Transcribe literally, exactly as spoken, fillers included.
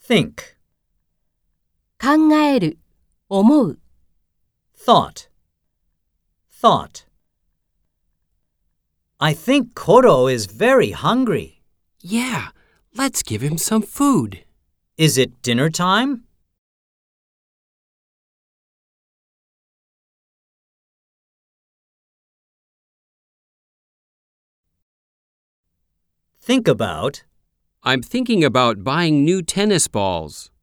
Think. 考える、思う。 Thought. Thought. I think Koro is very hungry. Yeah, let's give him some food. Is it dinner time? Think about. I'm thinking about buying new tennis balls.